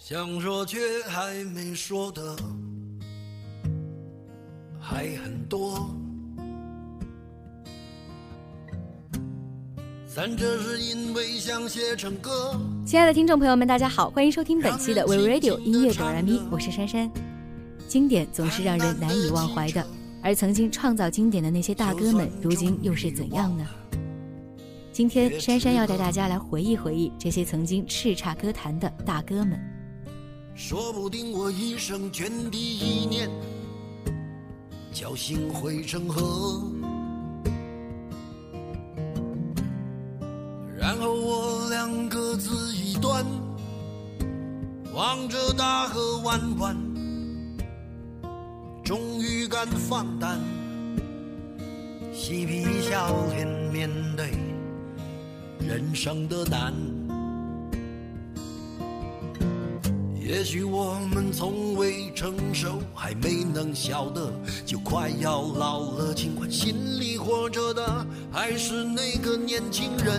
想说却还没说的还很多，但这是因为想写成歌。 亲爱的听众朋友们，大家好，欢迎收听本期的 We Radio 音乐哆来咪，我是珊珊。经典总是让人难以忘怀的，而曾经创造经典的那些大哥们，如今又是怎样呢？今天珊珊要带大家来回忆回忆这些曾经叱咤歌坛的大哥们。 说不定我一生涓滴一念，侥幸汇成河，然后我俩各自一端，望着大河弯弯，终于敢放胆嬉皮笑脸面对人生的难。也许我们从未成熟，还没能晓得，就快要老了，尽管心里活着的还是那个年轻人。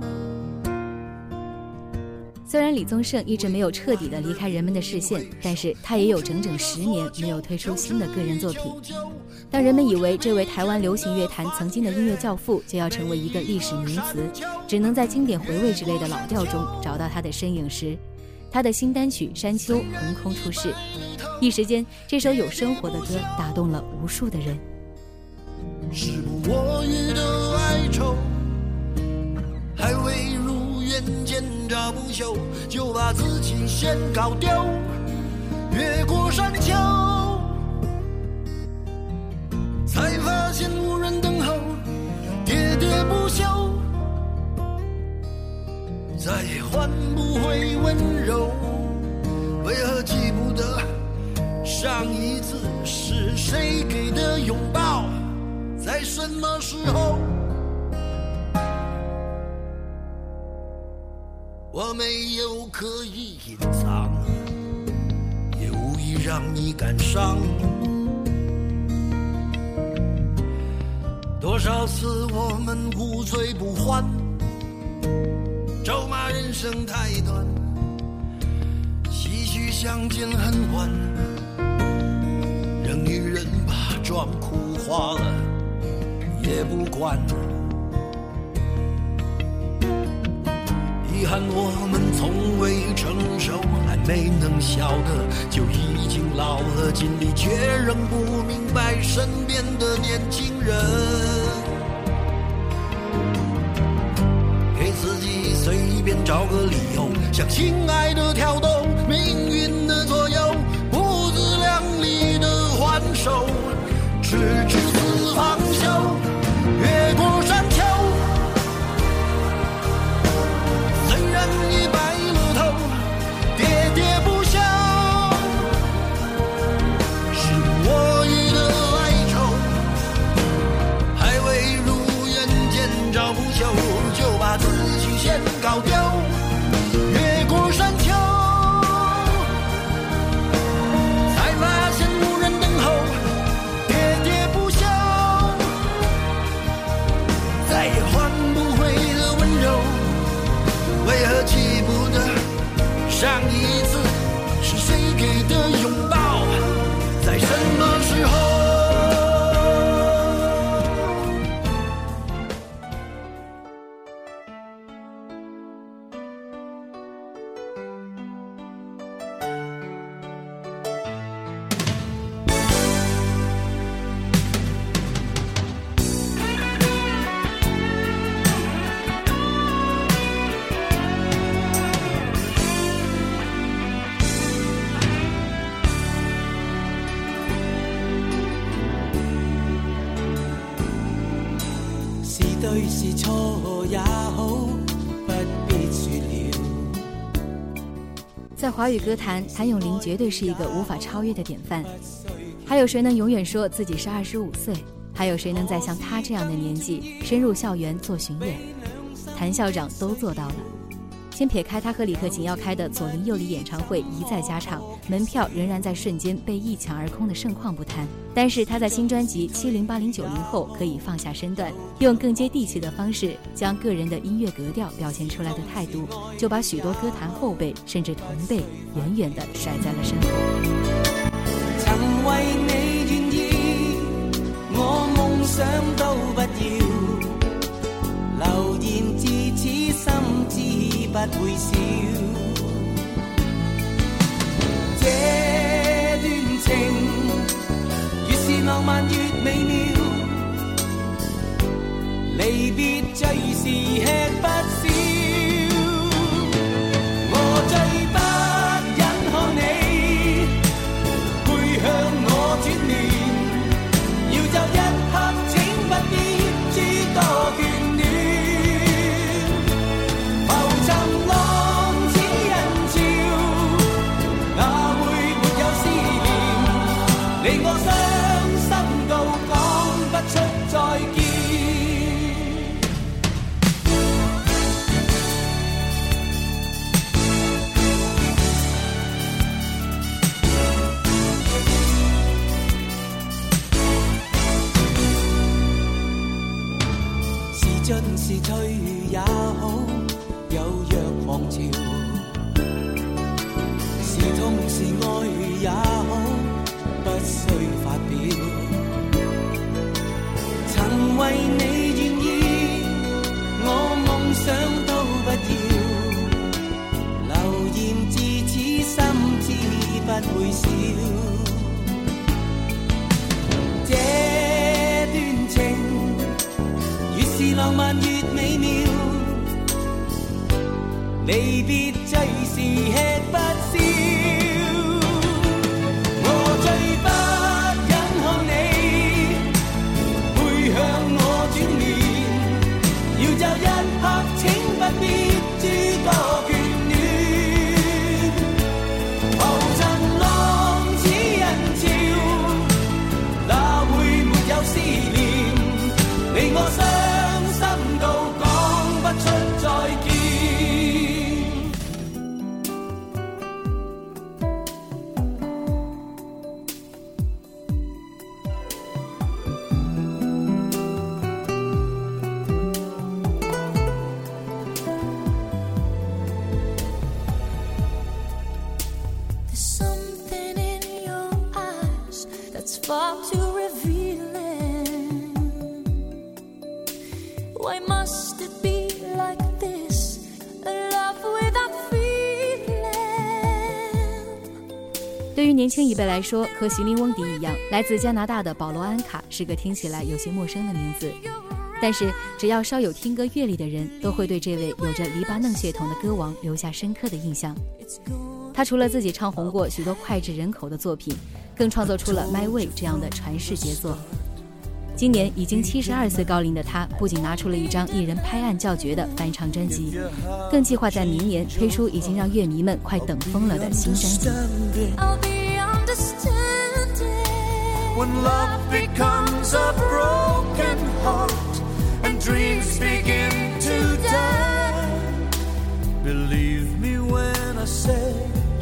虽然李宗盛一直没有彻底的离开人们的视线，但是他也有整整10年没有推出新的个人作品。当人们以为这位台湾流行乐坛曾经的音乐教父就要成为一个历史名词，只能在经典回味之类的老调中找到他的身影时，他的新单曲《山丘》横空出世，一时间这首有生活的歌打动了无数的人。 时不我予的哀愁，还未如愿见着不朽，就把自己先搞丢，越过山丘，才发现无人等候，喋喋不休，再也换不回温柔。为何记不得上一次是谁给的拥抱，在什么时候？我没有刻意隐藏，也无意让你感伤。多少次我们无醉不欢，咒骂人生太短，唏嘘相见恨晚，让女人把妆哭花了也不管。遗憾我们从未成熟，还没能晓得，就已经老了，尽力却仍不明白身边的年轻人。给自己随便找个理由，向亲爱的挑逗，命运的左右，不自量力的还手，直至死方休，越过山丘，虽然已白了头，喋喋不休，是我予的哀愁，还未如愿见着不朽，就把自己先搞丢，越过山丘，才发现无人等候，喋喋不休，再也换不回的温柔。为何记不得上一次是谁给的拥抱，在什么时候？ 对是错也好，不必说了。 在华语歌坛，谭咏麟绝对是一个无法超越的典范。还有谁能永远说自己是25岁？还有谁能在像他这样的年纪深入校园做巡演？谭校长都做到了。 先撇开他和李克勤要开的左邻右里演唱会一再加场，门票仍然在瞬间被一抢而空的盛况不谈，但是他在新专辑70、80、90后可以放下身段，用更接地气的方式将个人的音乐格调表现出来的态度，就把许多歌坛后辈甚至同辈远远地甩在了身后。 曾為你願意，我夢想都不要，流言自此心知不會少。這段情越是浪漫越美妙，離別最是吃不消。我最不忍看你背向我轉臉，要就一刻請不必諸多眷戀。浮沉浪似人潮，哪會沒有思念？令我傷心到講不出再見。是進是退也好，有若狂潮，是痛是愛也好，不需發表。曾為你願意，我夢想都不要，流言自此心知不會少。這段情越是浪漫越美妙，離別最是吃不消。我最不忍看你背向我轉臉，要就一刻請不必諸多眷戀。浮沉浪似人潮，哪會沒有思念？令我傷心到講不出再見。 There's something in your eyes that's far too revealing. Why must it be like this? A love without feeling. 对于年轻一辈来说，和席琳·翁迪一样，来自加拿大的保罗·安卡是个听起来有些陌生的名字，但是只要稍有听歌阅历的人，都会对这位有着黎巴嫩血统的歌王留下深刻的印象。他除了自己唱红过许多脍炙人口的作品，更创作出了《My Way》这样的传世杰作。今年已经72岁高龄的他，不仅拿出了一张艺人拍案叫绝的翻唱专辑，更计划在明年推出已经让乐迷们快等疯了的新专辑。 I'll be understanding When love becomes a broken heart and dreams begin to die, believe me when I say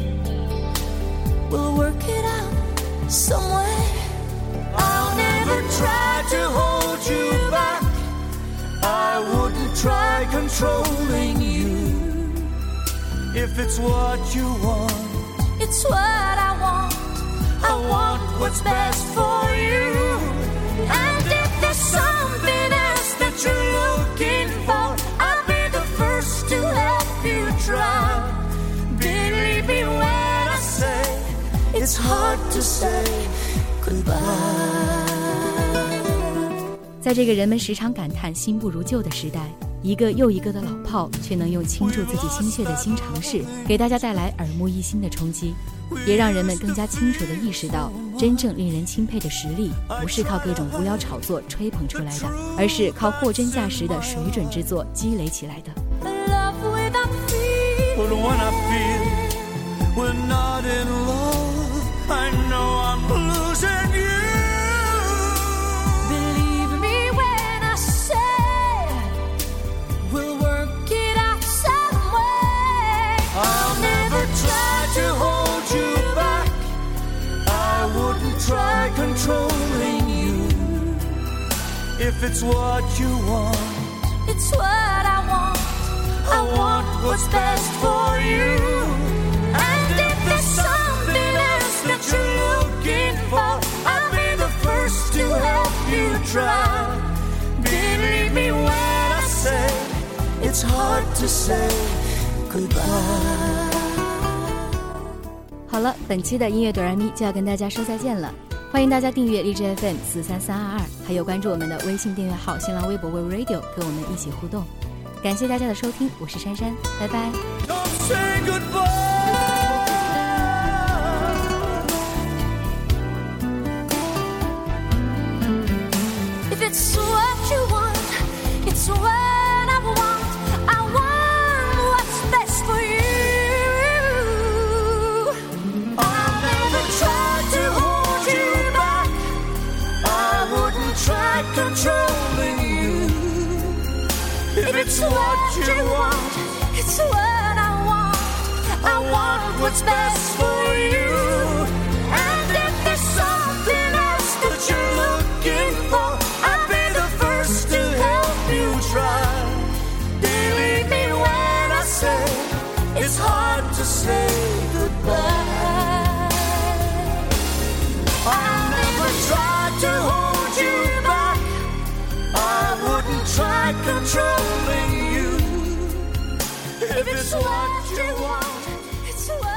we'll work it out some way. I'll never try to hold you back. I wouldn't try controlling you. If it's what you want, It's what I want. I want what's best for you. And if there's something else that you're looking for, I'll be the first to help you try. Believe me when I say it's hard to say goodbye. 在这个人们时常感叹新不如旧的时代，一个又一个的老炮却能用倾注自己心血的新尝试，给大家带来耳目一新的冲击，也让人们更加清楚地意识到，真正令人钦佩的实力，不是靠各种无聊炒作吹捧出来的，而是靠货真价实的水准之作积累起来的。 Love without feeling. But when I feel we're not in love, I know I'm losing you. Believe me when I say we'll work it out some way. If it's what you want, it's what I want. I want what's best for you. And if there's something else that you're looking for, I'll be the first to help you try. believe me when I say it's hard to say goodbye. 好了，本期的音乐哆来咪就要跟大家说再见了。欢迎大家订阅荔枝 FM 43322，还有关注我们的微信订阅号、新浪微博 Wave Radio， 跟我们一起互动。感谢大家的收听，我是珊珊，拜拜。 Don't say goodbye. If it's what you want, it's what I want. I want what's best for you. I'll never try to hold you back. I wouldn't try controlling you. If it's what you want, It's what I want. I want what's best for you. And if there's something else that you're looking for, I'll be the first to help you try. Believe me when I say it's hard to say goodbye. I'll never try to hold you back. I wouldn't try controlling you. If it's what you want, It's what